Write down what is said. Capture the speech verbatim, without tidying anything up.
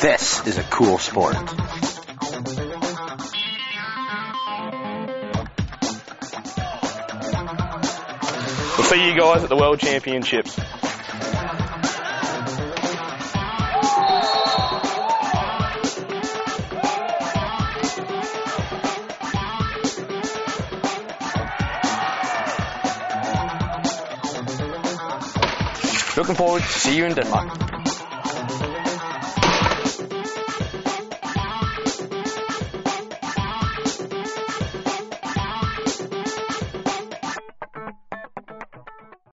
This is a cool sport. We'll see you guys at the World Championships. Looking forward to see you in Denmark.